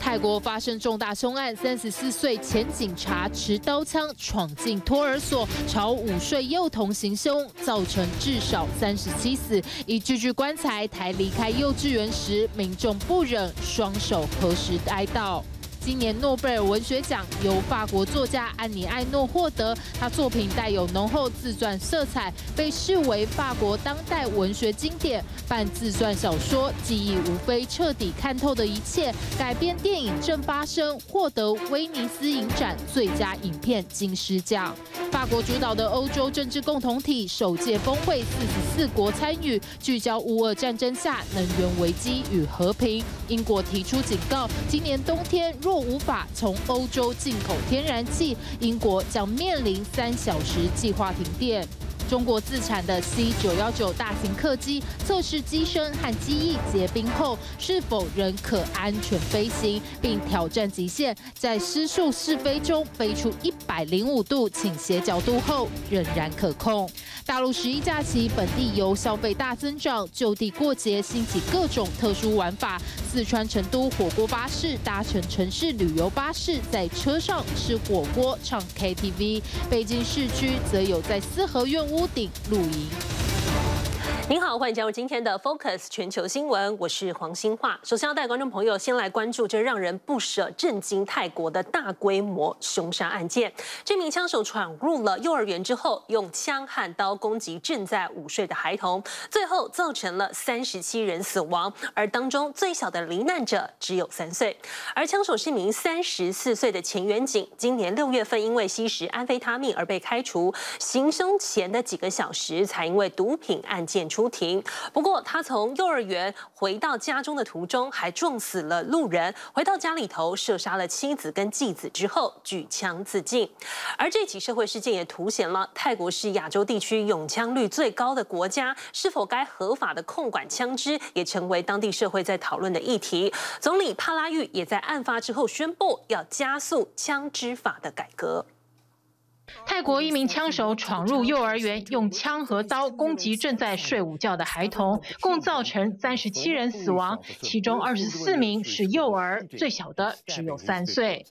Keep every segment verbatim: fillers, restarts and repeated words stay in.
泰國發生重大兇案，三十四歲前警察持刀槍闖進托兒所，朝五歲幼童行兇，造成至少三十七死。一具具棺材抬離開幼稚園時，民眾不忍，雙手合十哀悼。今年諾貝爾文學獎由法國作家安妮·艾諾獲得，他作品帶有濃厚自傳色彩，被視為法國當代文學經典。半自傳小說，記憶無非徹底看透的一切，改編電影正發生，獲得威尼斯影展最佳影片金獅獎。法國主導的歐洲政治共同體首屆峰會，四十四國參與，聚焦烏俄戰爭下能源危機與和平。英國提出警告，今年冬天若若無法從歐洲進口天然氣，英國將面臨三小時計劃停電。中國自產的 C 九一九大型客機測試機身和機翼結冰後，是否仍可安全飛行，並挑戰極限，在失速試飛中飛出一百零五度傾斜角度後，仍然可控。大陸十一假期，本地遊消費大增長，就地過節興起各種特殊玩法。四川成都火鍋巴士搭乘城市旅遊巴士，在車上吃火鍋、唱 K T V。北京市區則有在四合院屋頂露營。您好，歡迎加入今天的 Focus 全球新聞，我是黃欣樺。首先要帶觀眾朋友先來關注這讓人不捨、震驚泰國的大規模兇殺案件。這名槍手闖入了幼兒園之後，用槍和刀攻擊正在午睡的孩童，最後造成了三十七人死亡，而當中最小的罹難者只有三歲。而槍手是一名三十四歲的前員警，今年六月份因為吸食安非他命而被開除，行兇前的幾個小時才因為毒品案件出庭。不過，他從幼兒園回到家中的途中，還撞死了路人。回到家裡頭，射殺了妻子跟繼子之後，舉槍自盡。而這起社會事件也凸顯了泰國是亞洲地區擁槍率最高的國家，是否該合法的控管槍支，也成為當地社會在討論的議題。總理帕拉育也在案發之後宣布，要加速槍支法的改革。 泰國一名槍手闖入幼兒園，用槍和刀攻擊正在睡午覺的孩童，共造成三十七人死亡，其中二十四名是幼兒，最小的只有三歲。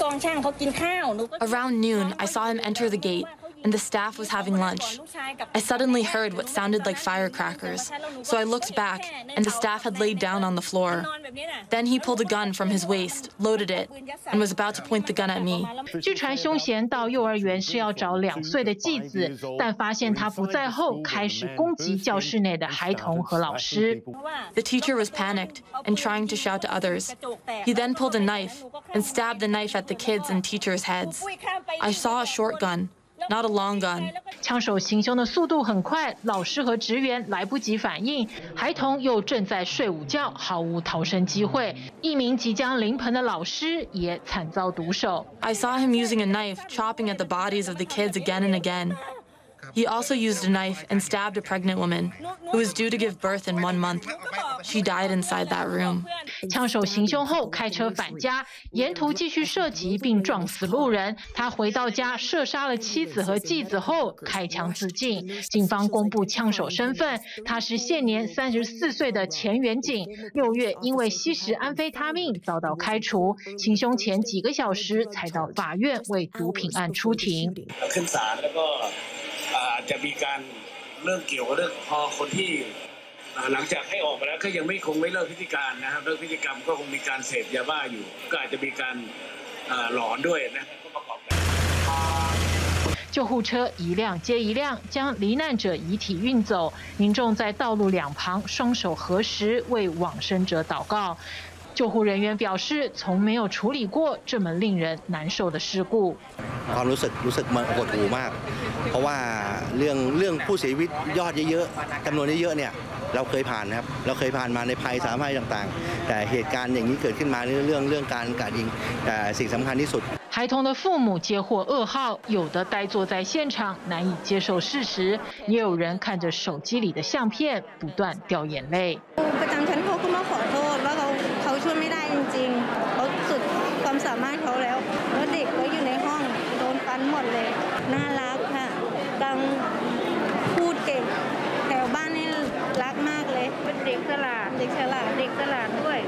Around noon, I saw him enter the gate, and the staff was having lunch. I suddenly heard what sounded like firecrackers, so I looked back, and the staff had laid down on the floor. Then he pulled a gun from his waist, loaded it, and was about to point the gun at me. 據傳兇嫌到幼兒園是要找兩歲的繼子，但發現他不在後，開始攻擊教室內的孩童和老師。 The teacher was panicked and trying to shout to others. He then pulled a knife and stabbed the knife at the kids and teachers' heads. I saw a short gun. Not a long gun. 槍手行兇的速度很快，老師和職員來不及反應，孩童又正在睡午覺，毫無逃生機會。一名即將臨盆的老師也慘遭毒手。 I saw him using a knife, chopping at the bodies of the kids again and again. He also used a knife and stabbed a pregnant woman who was due to give birth in one month. She died inside that room. 槍手行兇後開車返家，沿途繼續射擊並撞死路人。他回到家射殺了妻子和繼子後開槍自盡。警方公布槍手身份，他是現年三十四歲的前員警，六月因為吸食安非他命遭到開除，行兇前幾個小時才到法院為毒品案出庭。 จะมีการเรื่องเกี่ยวกับเรื่องพอคนที่หลังจากให้ออกมาแล้วก็ยังไม่คงไม่เลิกพฤติการนะครับเลิกพฤติกรรมก็คงมีการเสพยาบ้าอยู่ก็อาจจะมีการหลอนด้วยนะก็ประกอบกัน救護車一輛接一輛將罹難者遺體運走，民眾在道路兩旁雙手合十為往生者禱告。救護人員表示，從沒有處理過這麼令人難受的事故。 ความรู้สึกรู้สึกมันหดหู่มากเพราะว่าเรื่องเรื่องผู้เสียชีวิตยอดเยอะๆจำนวนเยอะๆเนี่ยเราเคยผ่านนะครับเราเคยผ่านมาในภัยสาธารณภัยต่างๆแต่เหตุการณ์อย่างนี้เกิดขึ้นมาเรื่องเรื่องการกราดยิงแต่สิ่งสำคัญที่สุด孩童的父母接獲噩耗，有的呆坐在現場，難以接受事實，也有人看着手機裡的相片，不斷掉眼淚。 ประจำชั้นเขาก็มาขอโทษว่าเขาเขาช่วยไม่ได้จริงๆเขาสุดความสามารถเขาแล้วแล้วเด็กก็อยู่ในห้องโดนฟันหมดเลยน่ารักค่ะกังพูดเก่งแถวบ้านนี่รักมากเลยเป็นเด็กฉลาดเด็กฉลาดเด็กฉลาดด้วย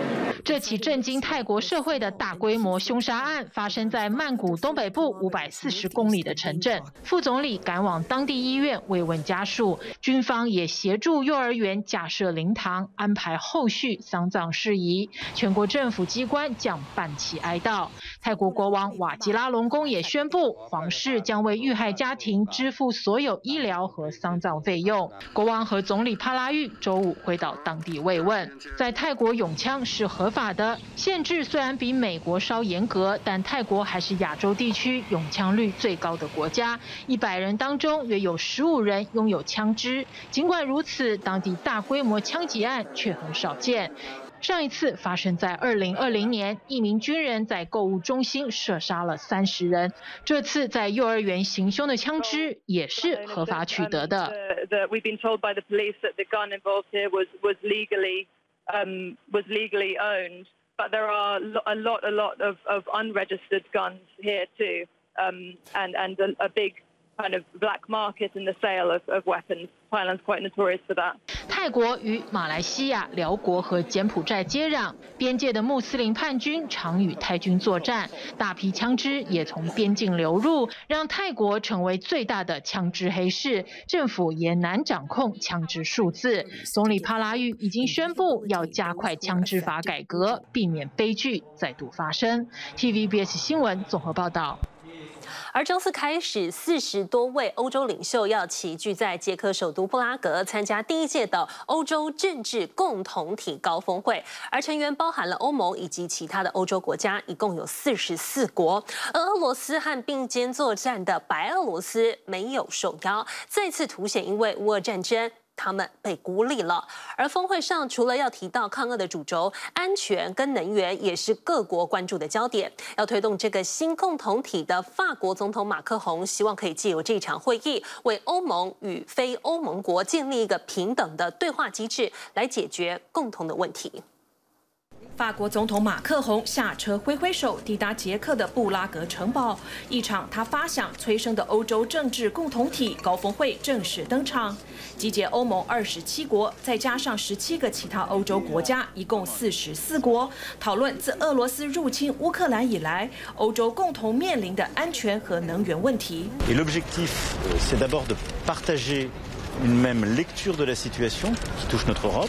這起震驚泰國社會的大規模兇殺案發生在曼谷東北部五百四十公里的城鎮。副總理趕往當地醫院慰問家屬，軍方也協助幼兒園架設靈堂，安排後續喪葬事宜。全國政府機關將辦期哀悼。泰國國王瓦吉拉隆功也宣布，皇室將為遇害家庭支付所有醫療和喪葬費用。國王和總理帕拉育週五回到當地慰問。在泰國擁槍是合法的，限制雖然比美國稍嚴格，但泰國還是亞洲地區擁槍率最高的國家，一百人當中約有十五人擁有槍支。儘管如此，當地大規模槍擊案卻很少見。上一次發生在二零二零年，一名軍人在購物中心射殺了三十人。這次在幼兒園行兇的槍支也是合法取得的。 We've been told by the police that the gun involved here was was legally um was legally owned, but there are a lot a lot of of unregistered guns here too, um and and a, a big kind of black market in the sale of, of weapons. Thailand's quite notorious for that. 泰國與馬來西亞、寮國和柬埔寨接壤，邊界的穆斯林叛軍常與泰軍作戰，大批槍支也從邊境流入，讓泰國成為最大的槍支黑市，政府也難掌控槍支數字。總理帕拉育已經宣布要加快槍支法改革，避免悲劇再度發生。T V B S 新聞綜合報道。 而周四開始，四十多位歐洲領袖要齊聚在捷克首都布拉格，參加第一屆的歐洲政治共同體高峰會。而成員包含了歐盟以及其他的歐洲國家，一共有四十四國。而俄羅斯和並肩作戰的白俄羅斯沒有受邀，再次凸顯因為烏俄戰爭，他們被孤立了。而峰會上，除了要提到抗俄的主軸，安全跟能源也是各國關注的焦點。要推動這個新共同體的法國總統馬克宏，希望可以借由這場會議，為歐盟與非歐盟國建立一個平等的對話機制，來解決共同的問題。 法國總統馬克宏下車揮揮手，抵達捷克的布拉格城堡，一場他發想催生的歐洲政治共同體高峰會正式登場，集結歐盟二十七國，再加上十七個其他歐洲國家，一共四十四國，討論自俄羅斯入侵烏克蘭以來，歐洲共同面臨的安全和能源問題。 Et l'objectif, c'est d'abord de partager une même lecture de la situation qui touche notre Europe,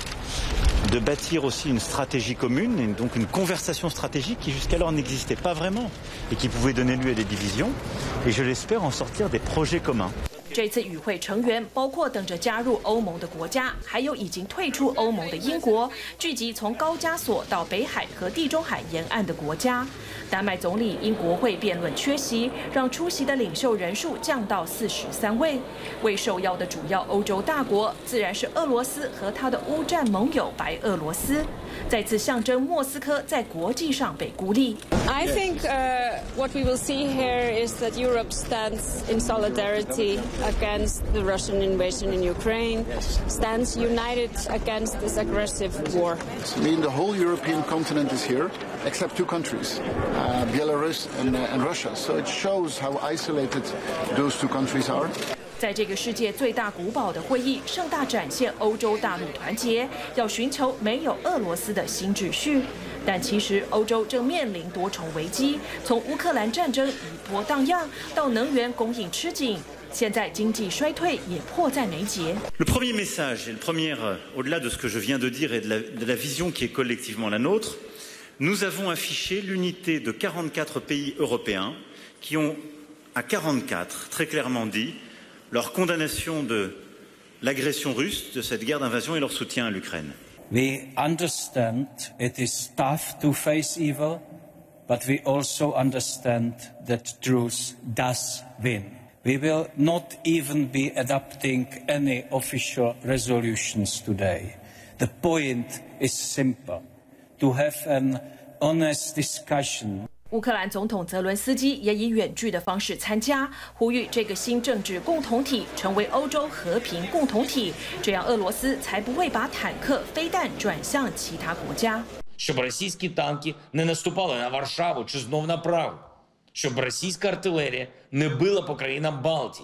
de bâtir aussi une stratégie commune, et donc une conversation stratégique qui jusqu'alors n'existait pas vraiment et qui pouvait donner lieu à des divisions, et je l'espère en sortir des projets communs. 這次與會成員包括等着加入歐盟的國家，還有已經退出歐盟的英國，聚集從高加索到北海和地中海沿岸的國家。丹麥總理因國會辯論缺席，讓出席的領袖人數降到四十三位。未受邀的主要歐洲大國自然是俄羅斯和他的烏戰盟友白俄羅斯，再次象徵莫斯科在國際上被孤立。 I think uh, what we will see here is that Europe stands in solidarity against the Russian invasion in Ukraine, stands united against this aggressive war. I mean, the whole European continent is here, except two countries, uh, Belarus and, uh, and Russia. So it shows how isolated those two countries are. 在這個世界最大古堡的會議，盛大展現歐洲大陸團結，要尋求沒有俄羅斯的新秩序。但其實歐洲正面臨多重危機，從烏克蘭戰爭餘波盪漾，到能源供應吃緊，現在經濟衰退也迫在眉睫。 Le premier message, et le premier, au-delà de ce que je viens de dire et de la, de la vision qui est collectivement la nôtre, nous avons affiché l'unité de quarante-quatre pays européens qui ont, à quarante-quatre, très clairement dit leur condamnation de l'agression russe, de cette guerre d'invasion et leur soutien à l'Ukraine. We understand it is tough to face evil, but we also understand that truth does win. We will not even be adopting any official resolutions today. The point is simple: to have an honest discussion. 烏克蘭總統澤倫斯基也以遠距的方式參加，呼籲這個新政治共同體成為歐洲和平共同體，這樣俄羅斯才不會把坦克、飛彈轉向其他國家。 Щоб російські танки не наступали на Варшаву чи знов на Прагу, щоб російська артилерія не била по країнам Балтії,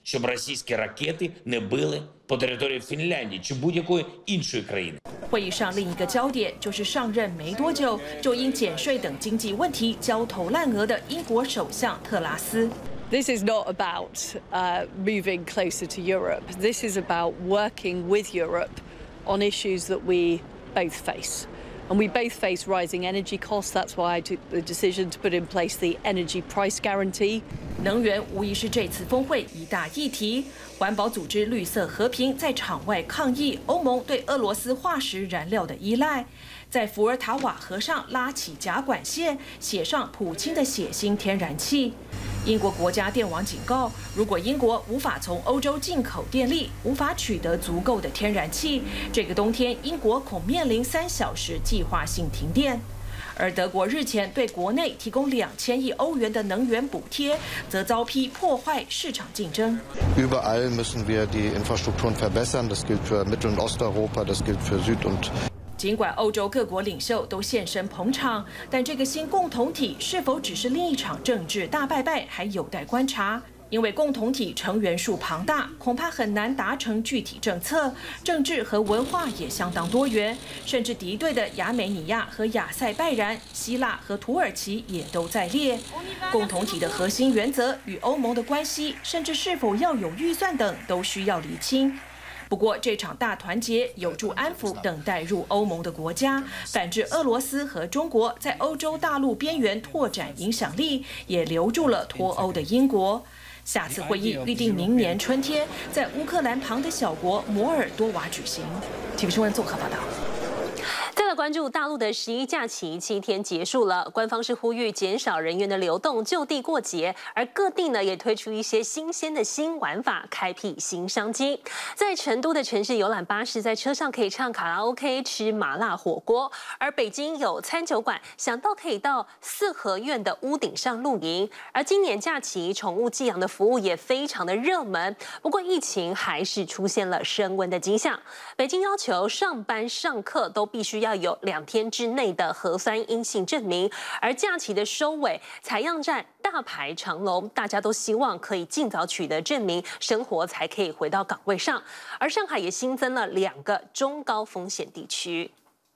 щоб російські ракети не били по території Фінляндії чи будь-якої іншої країни. 会議上另一個焦點就是上任沒多久就因減稅等經濟問題焦頭爛額的英國首相特拉斯。 This is not about uh, moving closer to Europe. This is about working with Europe on issues that we both face. And we both face rising energy costs. That's why I took the decision to put in place the energy price guarantee. 能源无疑是这次峰會一大議題。環保組織綠色和平在場外抗議歐盟對俄羅斯化石燃料的依賴，在伏爾塔瓦河上拉起甲管線，寫上普京的血腥天然氣。英國國家電網警告，如果英國無法從歐洲進口電力，無法取得足夠的天然氣，這個冬天英國恐面臨三小時計劃性停電。而德國日前對國內提供兩千億歐元的能源補貼，則遭批破壞市場競爭。 Überall müssen wir die Infrastrukturen verbessern. Das gilt für Mittel- und Osteuropa, das gilt für Süd- und 儘管歐洲各國領袖都現身捧場，但這個新共同體是否只是另一場政治大拜拜，還有待觀察。因為共同體成員數龐大，恐怕很難達成具體政策。政治和文化也相當多元，甚至敵對的亞美尼亞和亞塞拜然、希臘和土耳其也都在列。共同體的核心原則與歐盟的關係，甚至是否要有預算等，都需要釐清。不過，這場大團結有助安撫等待入歐盟的國家，反制俄羅斯和中國在歐洲大陸邊緣拓展影響力，也留住了脫歐的英國。下次會議預定明年春天在烏克蘭旁的小國摩爾多瓦舉行。體育新聞綜合報道。 再來關注大陸的十一假期七天結束了，官方是呼籲減少人員的流動，就地過節，而各地呢也推出一些新鮮的新玩法，開闢新商機。在成都的城市遊覽巴士，在車上可以唱卡拉 OK、吃麻辣火鍋；而北京有餐酒館，想到可以到四合院的屋頂上露營。而今年假期寵物寄養的服務也非常的熱門，不過疫情還是出現了升溫的跡象。北京要求上班上課都必須要有兩天之內的核酸陰性證明，而假期的收尾，採樣站大排長龍，大家都希望可以盡早取得證明，生活才可以回到崗位上。而上海也新增了兩個中高風險地區。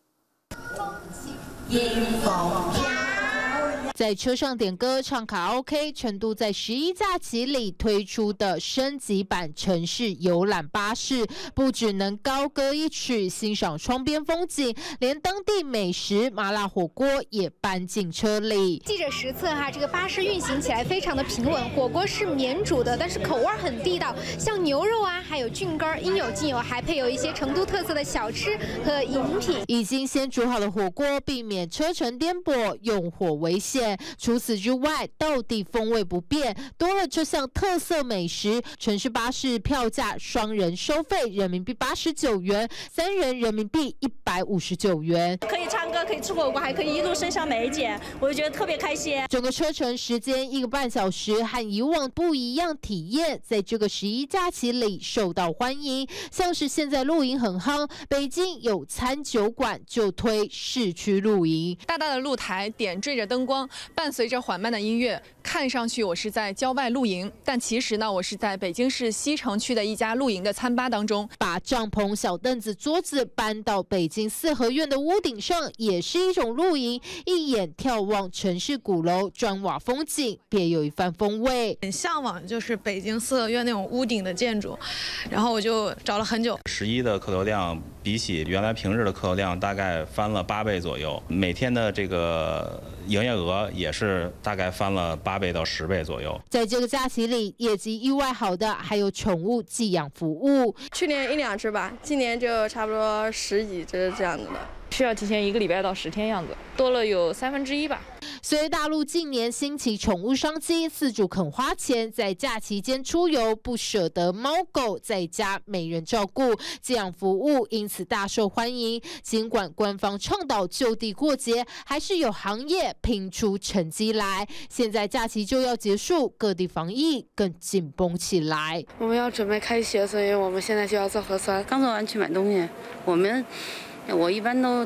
在車上點歌唱卡拉 OK， 成都在十一假期裡推出的升級版城市遊覽巴士，不只能高歌一曲欣賞窗邊風景，連當地美食麻辣火鍋也搬進車裡。 記者實測哈，這個巴士運行起來非常的平穩，火鍋是免煮的，但是口味很地道，像牛肉啊，還有菌乾，應有盡有，還配有一些成都特色的小吃和飲品。 已經先煮好的火鍋，避免車程顛簸，用火危險。除此之外，道地風味不變，多了這項特色美食。城市巴士票價雙人收費人民幣八十九元，三人人民幣一百五十九元。 可以唱歌，可以吃火鍋，還可以一路升上美檢，我就覺得特別開心。 整個車程時間一個半小時，和以往不一樣體驗，在這個十一假期裡受到歡迎。像是現在露營很夯，北京有餐酒館就推市區露營， 大大的露台點綴着燈光，伴隨着緩慢的音樂，看上去我是在郊外露營，但其實呢，我是在北京市西城區的一家露營的餐吧當中。 把帳篷、小凳子、桌子搬到北京四合院的屋頂上，也是一種露營。一眼眺望城市鼓樓、磚瓦風景，別有一番風味。 很向往就是北京四合院那種屋頂的建築，然後我就找了很久。 十一的客流量比起原來平日的客流量大概翻了八倍左右，每天的這個營業額也是大概翻了八倍到十倍左右。 在這個假期裡，業績意外好的還有寵物寄養服務。 去年一兩隻吧，今年就差不多十幾隻這樣子的。 需要提前一個禮拜到十天樣子，多了有三分之一吧。 隨大陸近年興起寵物商機，飼主肯花錢在假期間出遊，不捨得貓狗在家沒人照顧，寄養服務因此大受歡迎。儘管官方倡導就地過節，還是有行業拼出成績來。現在假期就要結束，各地防疫更緊繃起來。 我們要準備開學，所以我們現在就要做核酸。剛做完去買東西，我們。我一般都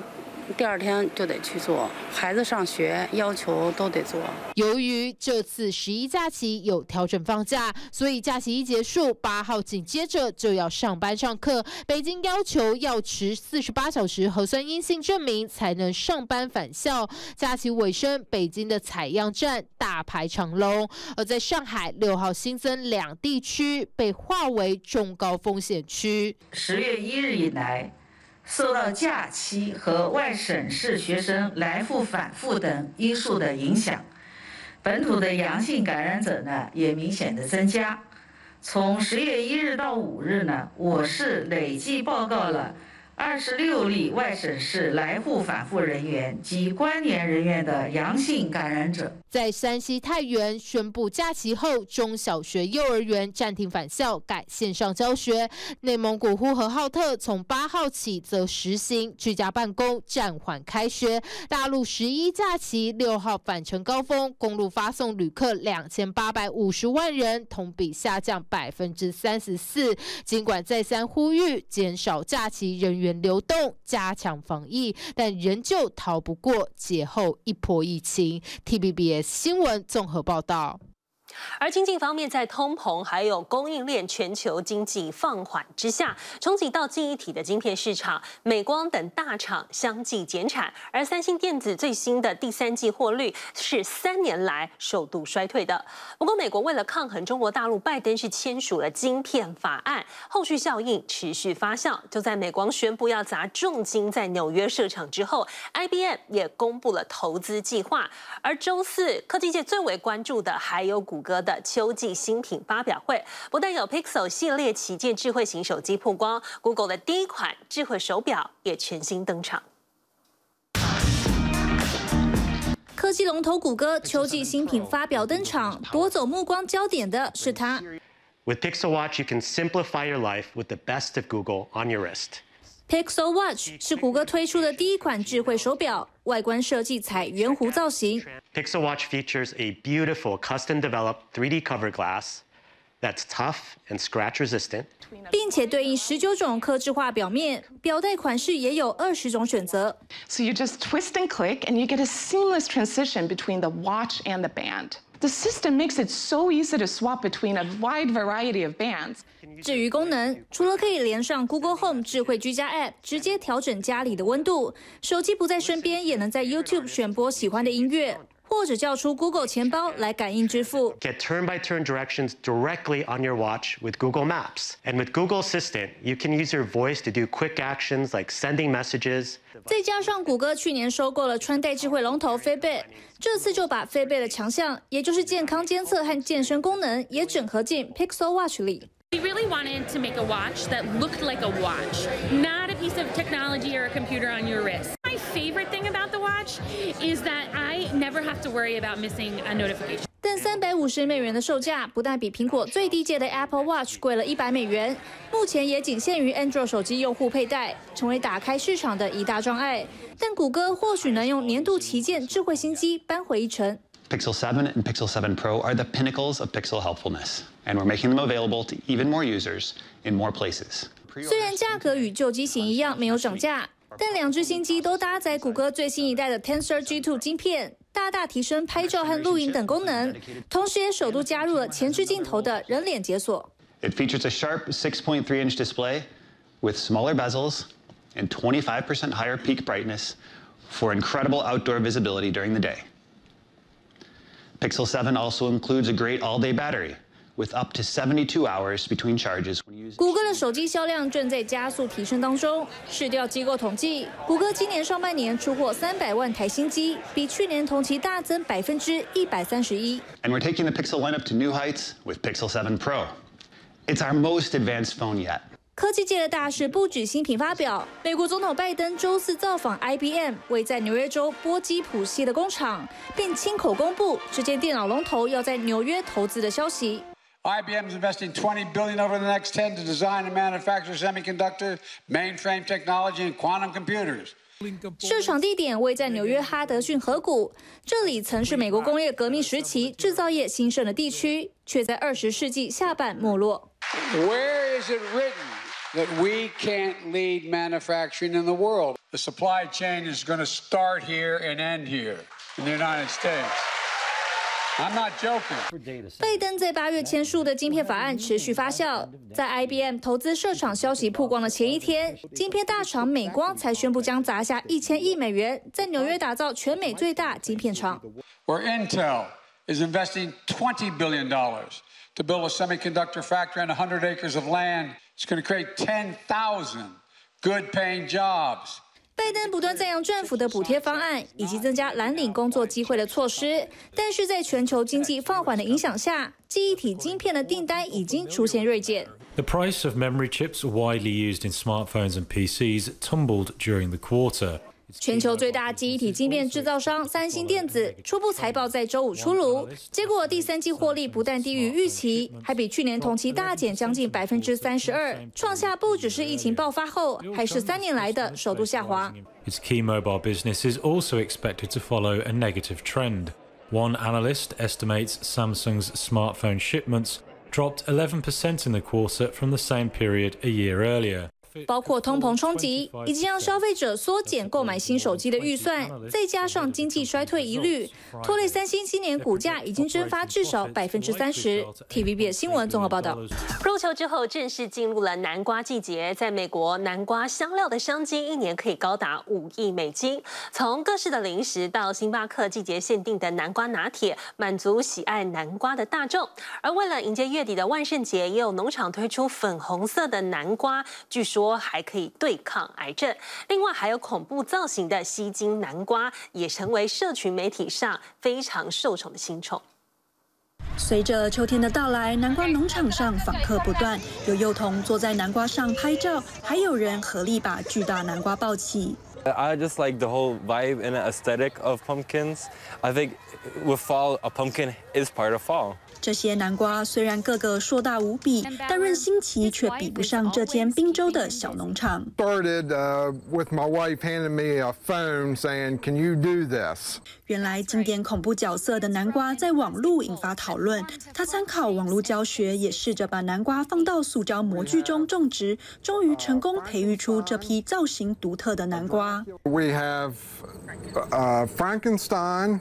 第二天就得去做，孩子上學要求都得做。 由于這次十一假期有調整放假，所以假期一結束，八號緊接着就要上班上課。北京要求要持四十八小時核酸陰性證明才能上班返校。假期尾聲，北京的採樣站大排長龍，而在上海六號新增兩地區被劃為中高風險區。 十月一日以來，受到假期和外省市學生來復返復等因素的影響，本土的陽性感染者呢也明顯的增加。從十月一日到五日呢，我市累計報告了二十六例外省市來滬返滬人員及關聯人員的陽性感染者。 在山西太原宣布假期後，中小學、幼兒園暫停返校，改線上教學。內蒙古呼和浩特從八號起則實行居家辦公，暫緩開學。大陸十一假期六號返程高峰，公路發送旅客兩千八百五十萬人，同比下降百分之三十四。儘管再三呼籲減少假期人員流動，加強防疫，但仍舊逃不過節後一波疫情。T V B S 新聞綜合報道。 而經濟方面，在通膨還有供應鏈全球經濟放緩之下，衝擊到記憶體的晶片市場，美光等大廠相繼減產，而三星電子最新的第三季獲利是三年來首度衰退的。不過，美國為了抗衡中國大陸，拜登是簽署了晶片法案，後續效應持續發酵。就在美光宣布要砸重金在紐約設廠之後 ，I B M 也公布了投資計劃。而周四，科技界最為關注的還有谷歌的秋季新品發表會，不但有 Pixel 系列旗艦智慧型手機曝光 ，Google 的第一款智慧手錶也全新登場。 科技龍頭谷歌秋季新品發表登場，奪走目光焦點的是它。 With Pixel Watch, you can simplify your life with the best of Google on your wrist. Pixel Watch 是谷歌推出的第一款智慧手錶，外觀設計採圓弧造型。 Pixel Watch features a beautiful custom-developed three D cover glass that's tough and scratch-resistant， 并且對應十九種客製化錶面，錶帶款式也有二十種選擇。 So you just twist and click, and you get a seamless transition between the watch and the band. The system makes it so easy to swap between a wide variety of bands. 至於功能，除了可以連上 Google Home 智慧居家 App， 直接調整家裡的溫度，手機不在身邊也能在 YouTube 選播喜歡的音樂，或者叫出 Google 錢包來感應支付。 Get turn-by-turn directions directly on your watch with Google Maps. And with Google Assistant, you can use your voice to do quick actions like sending messages. 再加上谷歌去年收購了穿戴智慧龍頭 Fitbit， 這次就把 Fitbit 的強項，也就是健康監測和健身功能，也整合進 Pixel Watch 裡。 We really wanted to make a watch that looked like a watch, not a piece of technology or a computer on your wrist. My favorite thing about the watch is that I never have to worry about missing a notification. 但三百五十美元的售價，不但比蘋果最低階的 Apple Watch 貴了一百美元，目前也僅限於 Android 手機用戶佩戴，成為打開市場的一大障礙。但谷歌或許能用年度旗艦智慧新機扳回一城。 Pixel seven and Pixel seven Pro are the pinnacles of Pixel helpfulness, and we're making them available to even more users in more places. 雖然價格與舊機型一樣沒有漲價，但兩隻新機都搭載谷歌最新一代的 Tensor G two 晶片，大大提升拍照和錄影等功能，同時也首度加入了前置鏡頭的人臉解鎖。 It features a sharp six point three inch display with smaller bezels and twenty-five percent higher peak brightness for incredible outdoor visibility during the day. Pixel seven also includes a great all-day battery with up to seventy-two hours between charges when using. 谷歌的手機銷量正在加速提升當中。市調機構統計，谷歌今年上半年出貨三百萬台新機，比去年同期大增百分之一百三十一。 And we're taking the Pixel lineup to new heights with Pixel seven Pro. It's our most advanced phone yet. 科技界的大事不止新品發表，美國總統拜登周四造訪 I B M 位在紐約州波基普西的工廠，並親口公布這間電腦龍頭要在紐約投資的消息。 I B M is investing twenty billion dollars over the next ten to design and manufacture semiconductor, mainframe technology, and quantum computers. 設廠地點位在紐約哈德遜河谷，這裡曾是美國工業革命時期製造業興盛的地區，卻在二十世紀下半沒落。 Where is it written that we can't lead manufacturing in the world. The supply chain is going to start here and end here in the United States. I'm not joking. 拜登在八月簽署的晶片法案持續發酵，在 I B M 投資設廠消息曝光的前一天，晶片大廠美光才宣布將砸下一千億美元，在紐約打造全美最大晶片廠。 Where Intel is investing twenty billion dollars to build a semiconductor factory on one hundred acres of land. It's going to create ten thousand good-paying jobs. 拜登不断讚揚政府的補貼方案以及增加藍領工作機會的措施，但是在全球經濟放緩的影響下，記憶體晶片的訂單已經出現銳減。 The price of memory chips widely used in smartphones and P Cs tumbled during the quarter. 全球最大記憶體晶片製造商三星電子初步財報在週五出爐，結果第三季獲利不但低於預期，還比去年同期大減將近百分之三十二，創下不只是疫情爆發後，還是三年來的首度下滑。 Its key mobile business is also expected to follow a negative trend. One analyst estimates Samsung's smartphone shipments dropped eleven percent in the quarter from the same period a year earlier. 包括通膨衝擊，以及讓消費者縮減購買新手機的預算，再加上經濟衰退疑慮，拖累三星今年股價已經蒸發至少百分之三十。T V B S 新聞綜合報道。 入秋之後正式進入了南瓜季節，在美國，南瓜香料的商機一年可以高達五億美金。從各式的零食到星巴克季節限定的南瓜拿鐵，滿足喜愛南瓜的大眾。而為了迎接月底的萬聖節，也有農場推出粉紅色的南瓜，據說還可以對抗癌症。另外還有恐怖造型的吸睛南瓜，也成為社群媒體上非常受寵的新寵。 隨着秋天的到來，南瓜農場上訪客不斷，有幼童坐在南瓜上拍照，還有人合力把巨大南瓜抱起。 I just like the whole vibe and aesthetic of pumpkins. I think with fall, a pumpkin is part of fall. 這些南瓜雖然個個碩大無比，但論新奇卻比不上這間賓州的小農場。 Started uh, with my wife handing me a phone saying, "Can you do this?" 原來經典恐怖角色的南瓜在網絡引發討論，他參考網絡教學，也試着把南瓜放到塑膠模具中種植，終於成功培育出這批造型獨特的南瓜。 We have uh, Frankenstein,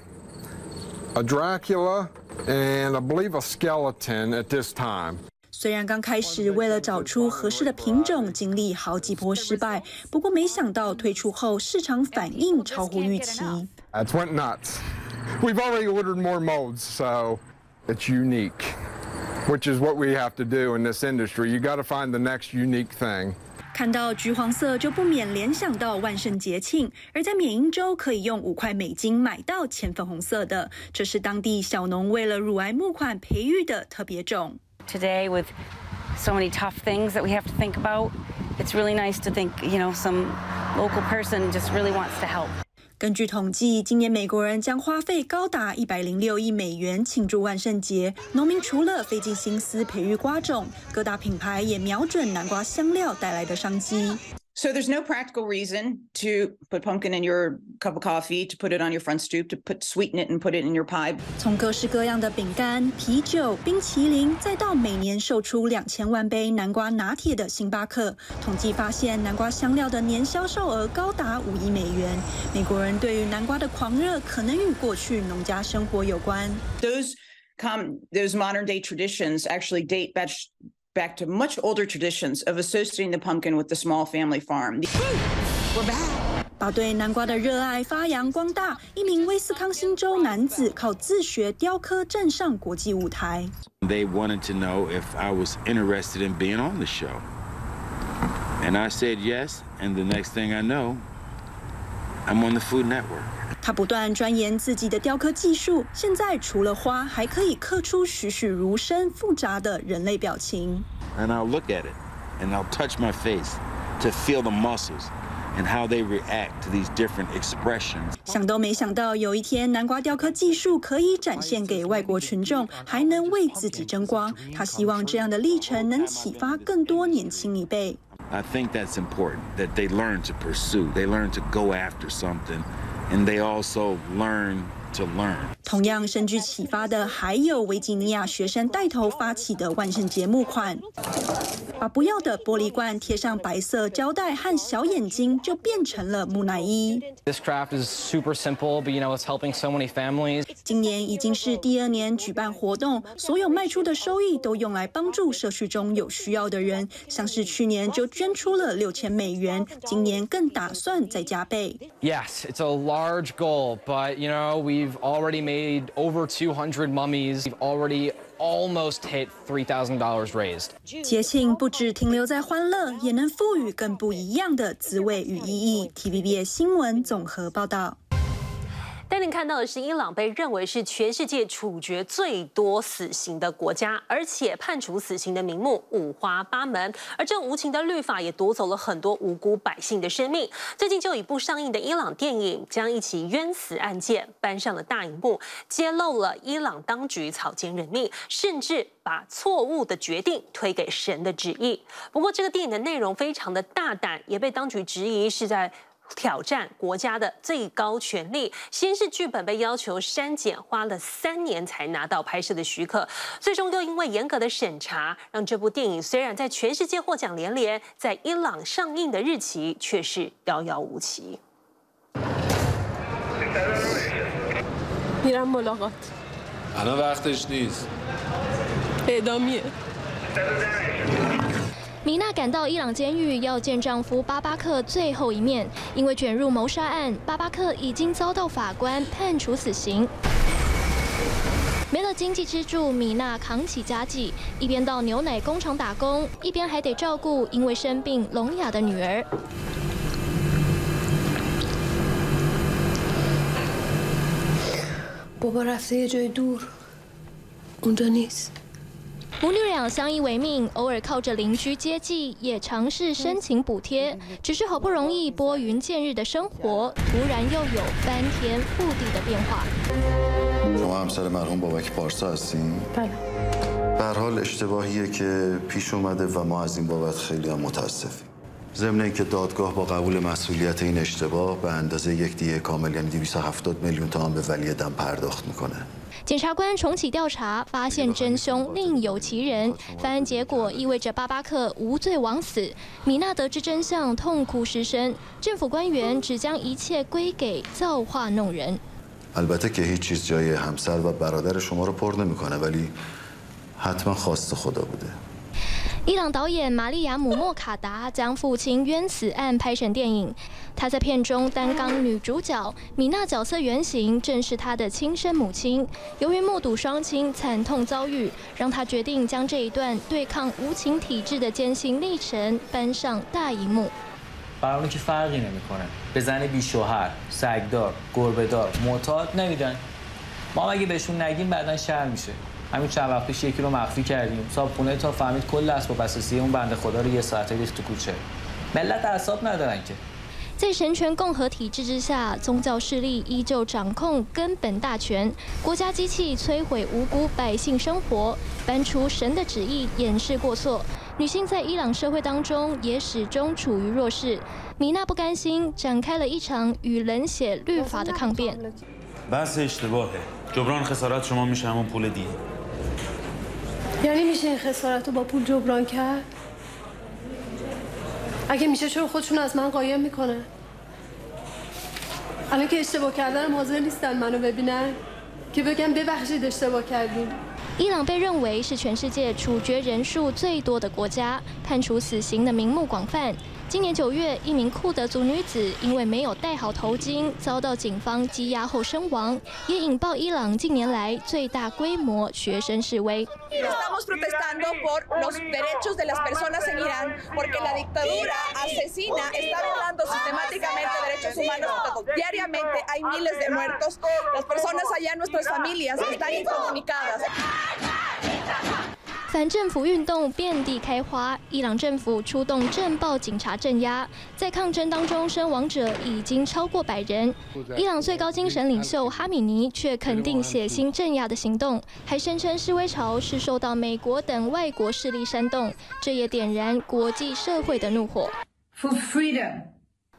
a Dracula, and I believe a skeleton at this time. 雖然剛開始為了找出合適的品種，經歷好幾波失敗，不過沒想到推出後市場反應超乎預期。 It went nuts. We've already ordered more molds, so it's unique, which is what we have to do in this industry. You got to find the next unique thing. 看到橘黃色就不免聯想到萬聖節慶，而在緬因州可以用五塊美金買到淺粉紅色的，這是當地小農為了乳癌募款培育的特別種。 Today, with so many tough things that we have to think about, it's really nice to think, you know, some local person just really wants to help. 根據統計，今年美國人將花費高達一百零六億美元慶祝萬聖節。農民除了費盡心思培育瓜種，各大品牌也瞄準南瓜香料帶來的商機。 So there's no practical reason to put pumpkin in your cup of coffee, to put it on your front stoop, to put sweeten it and put it in your pie. 從各式各樣的餅乾、啤酒、冰淇淋，再到每年售出兩千萬杯南瓜拿鐵的星巴克，統計發現南瓜香料的年銷售額高達五億美元。美國人對於南瓜的狂熱，可能與過去農家生活有關。 Those come, those modern day traditions actually date back. back to much older traditions of associating the pumpkin with the small family farm. We're back. 把對南瓜的熱愛發揚光大，一名威斯康星州男子靠自學雕刻站上國際舞台。 They wanted to know if I was interested in being on the show. And I said yes, and the next thing I know, I'm on the Food Network. 他不斷鑽研自己的雕刻技術，現在除了花，還可以刻出栩栩如生、複雜的人類表情。 And I'll look at it, and I'll touch my face to feel the muscles and how they react to these different expressions. 想都沒想到，有一天南瓜雕刻技術可以展現給外國群眾，還能為自己爭光。他希望這樣的歷程能啟發更多年輕一輩。 I think that's important, that they learn to pursue, they learn to go after something. And they also learn to learn. 同樣深具啟發的，還有維吉尼亞學生帶頭發起的萬聖節募款。 把不要的玻璃罐貼上白色膠帶和小眼睛，就變成了木乃伊。 This craft is super simple, but you know it's helping so many families. 今年已經是第二年舉辦活動，所有賣出的收益都用來幫助社區中有需要的人，像是去年就捐出了六千美元，今年更打算再加倍。 Yes, it's a large goal, but you know we've already made over two hundred mummies. We've already almost hit three thousand dollars raised. 節慶不只停留在歡樂，也能賦予更不一樣的滋味與意義。T V B S 新聞綜合報道。 帶您看到的是，伊朗被認為是全世界處決最多死刑的國家，而且判處死刑的名目五花八門，而這無情的律法也奪走了很多無辜百姓的生命。最近就有一部上映的伊朗電影，將一起冤死案件搬上了大熒幕，揭露了伊朗當局草菅人命，甚至把錯誤的決定推給神的旨意。不過，這個電影的內容非常的大膽，也被當局質疑是在挑戰國家的最高權力。先是劇本被要求刪減，花了三年才拿到拍攝的許可，最終又因為嚴格的審查，讓這部電影雖然在全世界獲獎連連，在伊朗上映的日期卻是遙遙無期。 میرم ملاقات. الان وقتش نیست. اعدامیه. 米娜趕到伊朗監獄要見丈夫巴巴克最後一面，因為捲入謀殺案，巴巴克已經遭到法官判處死刑。沒了經濟支柱，米娜扛起家計，一邊到牛奶工廠打工，一邊還得照顧因為生病聾啞的女兒。 بابا رفته یه جای دور. اونجا نیست. 母女倆相依為命，偶爾靠着鄰居接濟，也嘗試申請補貼。只是好不容易撥雲見日的生活，突然又有翻天覆地的變化。 شما همسر مرحوم بابک پارسا هستین؟ بله. به هر حال اشتباهیه که پیش اومده و ما از این بابت خیلی هم متاسفیم. ضمن اینکه دادگاه با قبول مسئولیت این اشتباه به اندازه یک دیه کامل یعنی دویست و هفتاد میلیون تومان به ولی دم پرداخت میکنه. 檢察官重啟調查，發現真兇另有其人。翻案結果意味着巴巴克無罪枉死。米娜得知真相，痛哭失聲。政府官員只將一切歸給造化弄人。 البته که هیچ چیز جای همسر و برادر شما رو پر نمیکنه ولی حتما خواست خدا بوده. 伊朗導演瑪利亞姆·莫卡達將父親冤死案拍成電影。她在片中擔綱女主角，米娜角色原型正是她的親生母親。由於目睹雙親慘痛遭遇，讓她決定將這一段對抗無情體制的艱辛歷程搬上大熒幕。 برامون که فرقی نمیکنه. به زن بی شوهر، سگدار، گربه‌دار، معتاد نمیدن. ما اگه بهشون نگیم بعدن شرم میشه. همین چند وقت پیش یکی رو مخفی کردیم. صاحبخونه تا فهمید کل اسباب اساسی اون بنده خدا رو یه ساعته ریخت تو کوچه. ملت اعصاب ندارن که. 在神權共和體制之下，宗教勢力依舊掌控根本大權，國家機器摧毀無辜百姓生活，搬出神的旨意掩飾過錯。女性在伊朗社會當中也始終處於弱勢。米娜不甘心，展開了一場與冷血律法的抗辯。 بحث اشتباهه. جبران خسارت شما میشه همون پول دیه. یعنی میشه این خسارت رو با پول جبران کرد؟ اگه میشه چرا خودشون از من قایم میکنن؟ الان که اشتباه کردن حاضر نیستن منو ببینن که بگم ببخشید اشتباه کردیم. 伊朗被認為是全世界處決人數最多的國家，判處死刑的名目廣泛。今年九月，一名庫德族女子因為沒有戴好頭巾，遭到警方羈押後身亡，也引爆伊朗近年來最大規模學生示威。 Estamos protestando por los derechos de las personas en Irán, porque la dictadura asesina está violando sistemáticamente derechos humanos. Diariamente hay miles de muertos. Las personas allá, nuestras familias, están incomunicadas. 反政府運動遍地開花，伊朗政府出動鎮暴警察鎮壓，在抗爭當中身亡者已經超過百人。伊朗最高精神領袖哈米尼卻肯定血腥鎮壓的行動，還聲稱示威潮是受到美國等外國勢力煽動，這也點燃國際社會的怒火。 For freedom.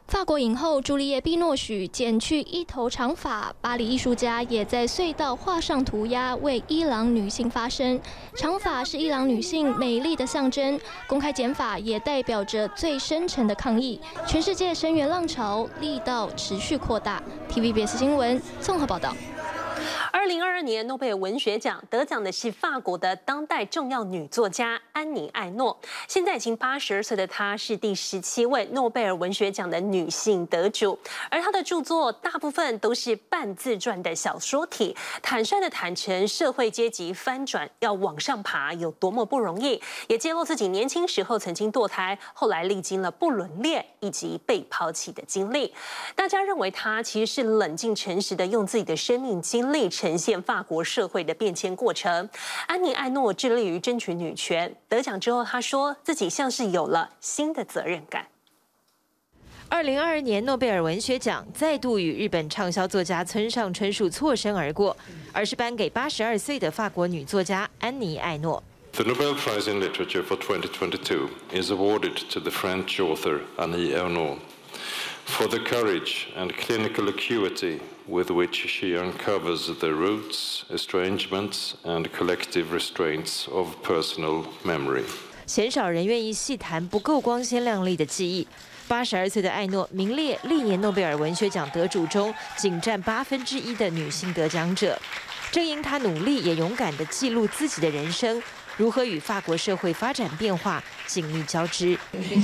法國影后朱麗葉·碧諾許剪去一頭長髮，巴黎藝術家也在隧道畫上塗鴉，為伊朗女性發聲。長髮是伊朗女性美麗的象徵，公開剪髮也代表着最深沉的抗議。全世界聲援浪潮力道持續擴大。T V B S 新聞綜合報道。 二零二二年諾貝爾文學獎得獎的是法國的當代重要女作家安妮·艾諾。現在已經八十二歲的她，是第十七位諾貝爾文學獎的女性得主。而她的著作大部分都是半自傳的小說體，坦率地坦誠社會階級翻轉要往上爬有多麼不容易，也揭露自己年輕時候曾經墮胎，後來歷經了不倫戀以及被拋棄的經歷。大家認為她其實是冷靜誠實地用自己的生命經歷呈現法國社會的變遷過程。安妮·艾諾致力於爭取女權，得獎之後，她說自己像是有了新的責任感。 二零二二年諾貝爾文學獎再度與日本暢銷作家村上春樹錯身而過，而是頒給八十二歲的法國女作家安妮·艾諾。 The Nobel Prize in Literature for twenty twenty-two is awarded to the French author Annie Ernaux for the courage and clinical acuity with which she uncovers the roots, estrangements, and collective restraints of personal memory. 鮮少人願意細談不夠光鮮亮麗的記憶。八十二歲的艾諾名列歷年諾貝爾文學獎得主中僅佔八分之一的女性得獎者。正因她努力也勇敢地記錄自己的人生，如何與法國社會發展變化緊密交織。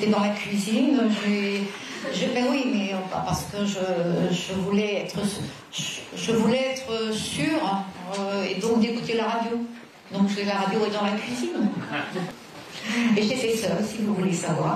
Je, ben oui, mais parce que je, je voulais être, je voulais être sûre euh, et donc d'écouter la radio. Donc la radio est dans la cuisine. Et j'étais seule, si vous voulez savoir.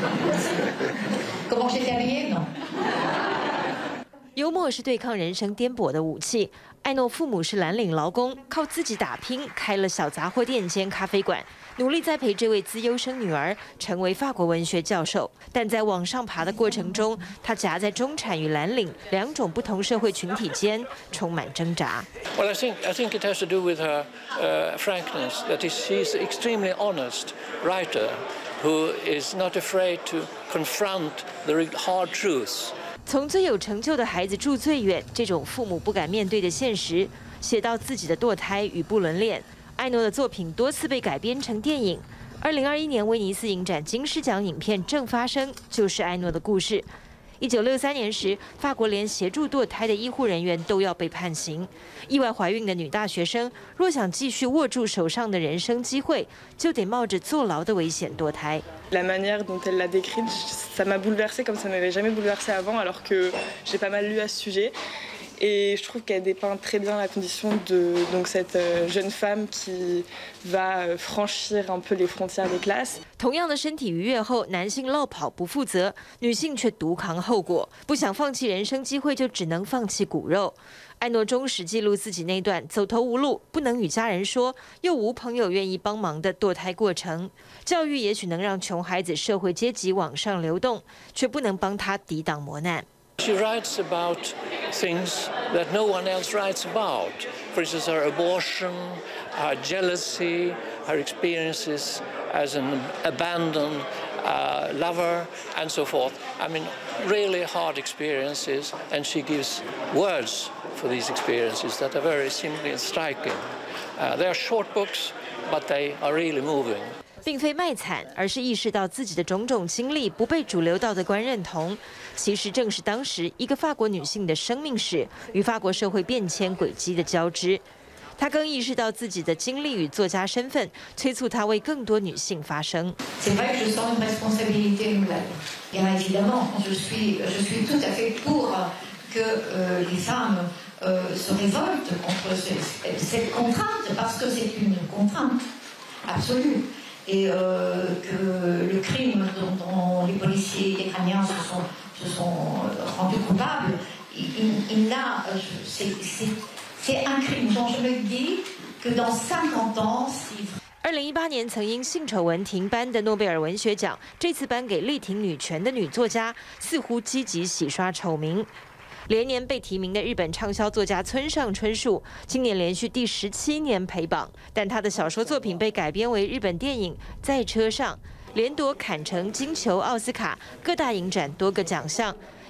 Comment j'étais habillée, non? 幽默是對抗人生顛簸的武器。艾諾父母是藍領勞工，靠自己打拼，開了小雜貨店兼咖啡館，努力栽培這位資優生女兒成為法國文學教授。但在往上爬的過程中，她夾在中產與藍領兩種不同社會群體間，充滿掙扎。 Well, I think I think it has to do with her uh, frankness. That is, she's an extremely honest writer who is not afraid to confront the hard truths. 從最有成就的孩子住最遠，這種父母不敢面對的現實，寫到自己的墮胎與不倫戀。艾諾的作品多次被改編成電影。二零二一年威尼斯影展金獅獎影片《正發生》就是艾諾的故事。一九六三年時，法國連協助墮胎的醫護人員都要被判刑。意外懷孕的女大學生，若想繼續握住手上的人生機會，就得冒着坐牢的危險墮胎。 La manière dont elle l'a décrite, ça m'a bouleversée comme ça m'avait jamais bouleversée avant, alors que j'ai pas mal lu à ce sujet. Et je trouve qu'elle dépeint très bien la condition de donc cette jeune femme qui va franchir un peu les frontières des classes. 同樣的身體愉悅後，男性落跑不負責，女性卻獨扛後果。不想放棄人生機會，就只能放棄骨肉。艾諾忠實記錄自己那段走投無路、不能與家人說，又無朋友願意幫忙的墮胎過程。教育也許能讓窮孩子社會階級往上流動，卻不能幫他抵擋磨難。 She writes about things that no one else writes about. For instance, her abortion, her jealousy, her experiences as an abandoned uh, lover, and so forth. I mean, really hard experiences, and she gives words for these experiences that are very simply and striking. Uh, they are short books, but they are really moving. 並非賣慘，而是意識到自己的種種經歷不被主流道德觀認同。其實正是當時一個法國女性的生命史與法國社會變遷軌跡的交織。她更意識到自己的經歷與作家身份，催促她為更多女性發聲。 C'est vrai que je sens une responsabilité nouvelle. Bien évidemment, je suis, je suis tout à fait pour que euh, les femmes euh, se révoltent contre cette contrainte, parce que c'est une contrainte absolue. Et euh, que le crime dont, dont les policiers iraniens se sont, se sont rendus coupables, il, il n'a, c'est, c'est, c'est un crime dont je me dis que dans cinquante ans, si... 二零一八年曾因性醜聞停頒的諾貝爾文學獎，這次頒給力挺女權的女作家，似乎積極洗刷醜名。連年被提名的日本暢銷作家村上春樹，今年連續第十七年陪榜，但他的小說作品被改編為日本電影《在車上》，連奪坎城、金球、奧斯卡各大影展多個獎項。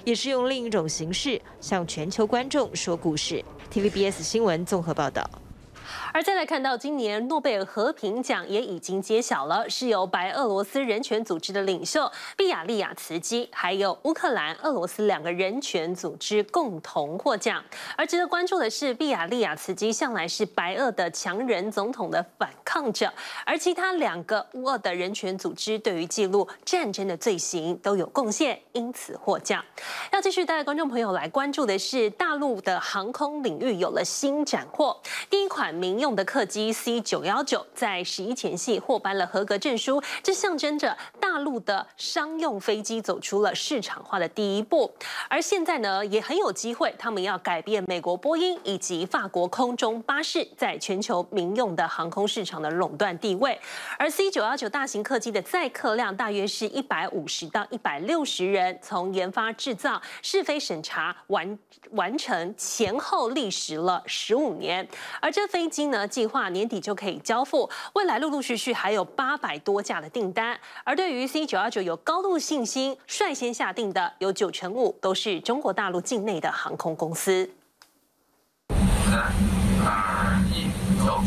也是用另一種形式向全球觀眾說故事。T V B S 新聞綜合報道。 而再來看到今年諾貝爾和平獎也已經揭曉了，是由白俄羅斯人權組織的領袖畢亞利亞茨基，還有烏克蘭、俄羅斯兩個人權組織共同獲獎。而值得關注的是，畢亞利亞茨基向來是白俄的強人總統的反抗者，而其他兩個烏俄的人權組織對於記錄戰爭的罪行都有貢獻，因此獲獎。要繼續帶觀眾朋友來關注的是，大陸的航空領域有了新斬獲，第一款民用的客機 C 九一九在十一前夕獲頒了合格證書，這象徵着大陸的商用飛機走出了市場化的第一步。而現在呢，也很有機會，他們要改變美國波音以及法國空中巴士在全球民用的航空市場的壟斷地位。而 C 九一九大型客機的載客量大約是一百五十到一百六十人，從研發、製造、試飛審查完完成前後歷時了十五年。而這飛機呢，計劃年底就可以交付，未來陸陸續續還有八百多架的訂單。而對於 C 九一九有高度信心，率先下定的有九成五都是中國大陸境內的航空公司。 三二一，走。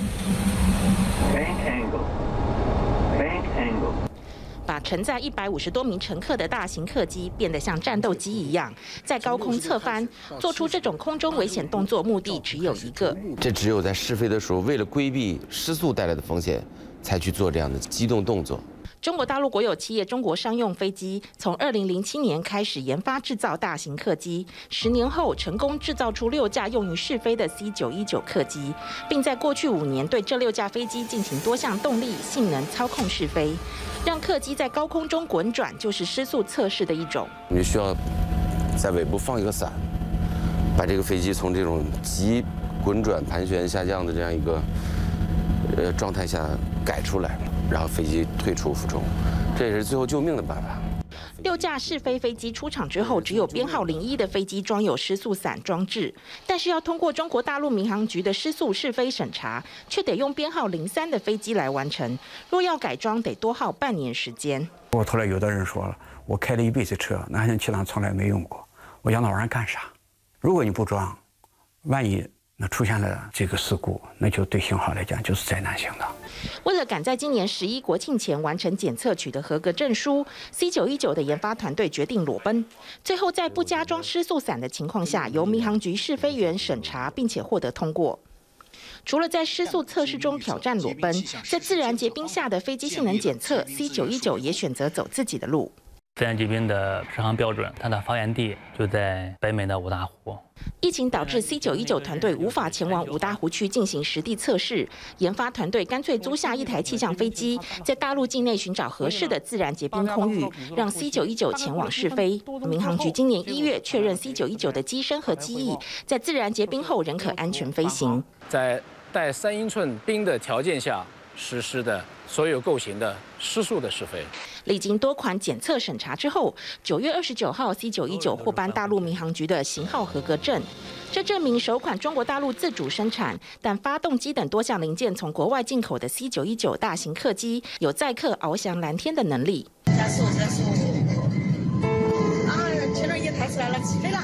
把承載一百五十多名乘客的大型客機變得像戰鬥機一樣，在高空側翻，做出這種空中危險動作，目的只有一個。 這只有在試飛的時候，為了規避失速帶來的風險，才去做這樣的機動動作。 中國大陸國有企業中國商用飛機從二零零七年開始研發製造大型客機，十年後成功製造出六架用於試飛的 C 九一九客機，並在過去五年對這六架飛機進行多項動力、性能操控試飛，讓客機在高空中滾轉，就是失速測試的一種。 我們需要在尾部放一個傘，把這個飛機從這種急滾轉、盤旋下降的這樣一個呃狀態下改出來。然後飛機退出俯衝，這也是最後救命的辦法。 六架試飛飛機出廠之後，只有編號零一的飛機裝有失速傘裝置，但是要通過中國大陸民航局的失速試飛審查，卻得用編號零三的飛機來完成。若要改裝，得多耗半年時間。 我後來有的人說了，我開了一輩子車，南翔氣囊從來沒用過，我要那玩意兒幹啥？如果你不裝，萬一那出現了這個事故，那就對型號來講就是災難性的。 為了趕在今年十一國慶前完成檢測取得合格證書 ，C 九一九的研發團隊決定裸奔，最後在不加裝失速傘的情況下，由民航局試飛員審查，並且獲得通過。除了在失速測試中挑戰裸奔，在自然結冰下的飛機性能檢測 ，C 九一九也選擇走自己的路。 自然結冰的適航標準，它的發源地就在北美的五大湖。 疫情導致 C 九一九團隊無法前往五大湖區進行實地測試，研發團隊乾脆租下一台氣象飛機，在大陸境內尋找合適的自然結冰空域，讓 C 九一九前往試飛。民航局今年一月確認 C 九一九的機身和機翼在自然結冰後仍可安全飛行。 在帶三英寸冰的條件下實施的所有構型的失速的試飛。 歷經多款檢測審查之後，九月二十九號 C 九一九獲頒大陸民航局的型號合格證。這證明首款中國大陸自主生產，但發動機等多項零件從國外進口的 C 九一九大型客機有載客翱翔藍天的能力。加速，加速！啊，前面也抬起來了，起飛了。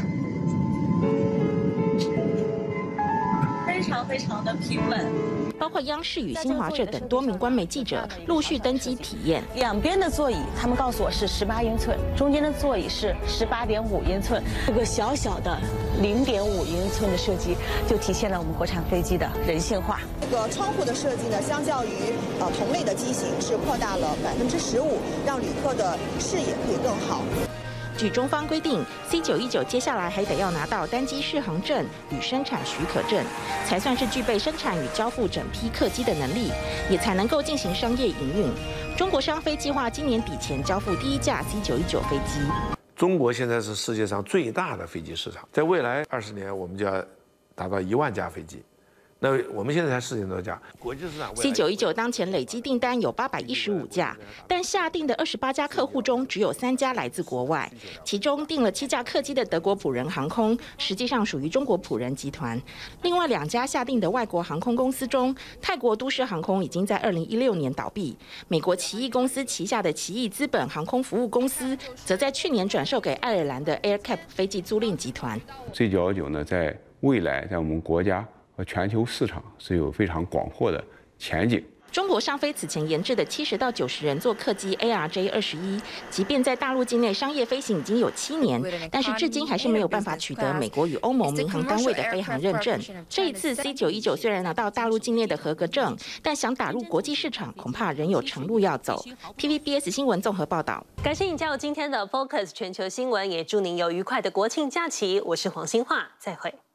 非常非常的平穩。包括央視與新華社等多名官媒記者陸續登機體驗。 兩邊的座椅，他們告訴我是十八英寸，中間的座椅是十八點五英寸。這個小小的零點五英寸的設計，就體現了我們國產飛機的人性化。 這個窗戶的設計呢，相較於呃同類的機型是擴大了百分之十五，讓旅客的視野可以更好。 據中方規定 ，C 九一九接下來還得要拿到單機適航證與生產許可證，才算是具備生產與交付整批客機的能力，也才能夠進行商業營運。中國商飛計劃今年底前交付第一架 C 九一九飛機。 中國現在是世界上最大的飛機市場，在未來二十年，我們就要達到一萬架飛機。那那我們現在才四千多架，國際市場。 C 九一九當前累積訂單有八百一十五架，但下訂的二十八家客戶中只有三家來自國外，其中訂了七架客機的德國普仁航空，實際上屬於中國普仁集團。另外兩家下訂的外國航空公司中，泰國都市航空已經在二零一六年倒閉，美國奇異公司旗下的奇異資本航空服務公司，則在去年轉售給愛爾蘭的 AirCap 飛機租賃集團。 C 九一九呢，在未來在我們國家和全球市場是有非常廣闊的前景。 中國商飛此前研製的七十到九十人座客機 A R J 二十一，即便在大陸境內商業飛行已經有七年，但是至今還是沒有辦法取得美國與歐盟民航單位的飛航認證。這一次 C 九一九雖然拿到大陸境內的合格證，但想打入國際市場，恐怕仍有長路要走。T V B S 新聞綜合報道。 感謝你加入今天的 Focus 全球新聞，也祝您有愉快的國慶假期。我是黃欣樺，再會。